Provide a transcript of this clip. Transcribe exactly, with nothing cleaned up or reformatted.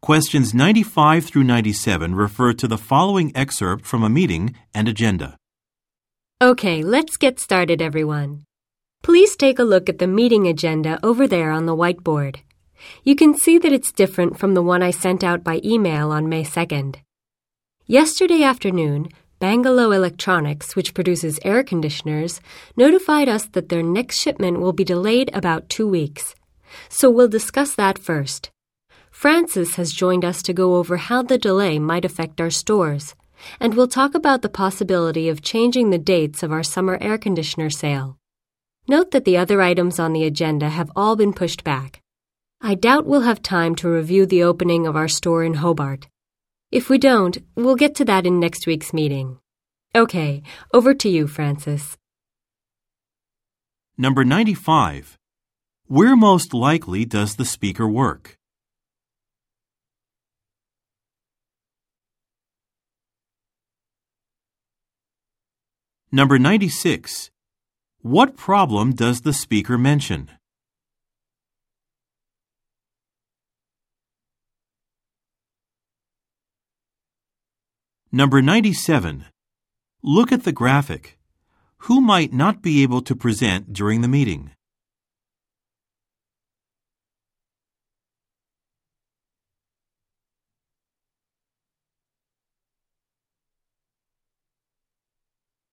Questions ninety-five through ninety-seven refer to the following excerpt from a meeting and agenda. Okay, let's get started, everyone. Please take a look at the meeting agenda over there on the whiteboard. You can see that it's different from the one I sent out by email on May second. Yesterday afternoon, Bangalore Electronics, which produces air conditioners, notified us that their next shipment will be delayed about two weeks. So we'll discuss that first. Francis has joined us to go over how the delay might affect our stores, and we'll talk about the possibility of changing the dates of our summer air conditioner sale. Note that the other items on the agenda have all been pushed back. I doubt we'll have time to review the opening of our store in Hobart. If we don't, we'll get to that in next week's meeting. Okay, over to you, Francis. Number ninety-five. Where most likely does the speaker work? Number ninety-six. What problem does the speaker mention? Number ninety-seven. Look at the graphic. Who might not be able to present during the meeting?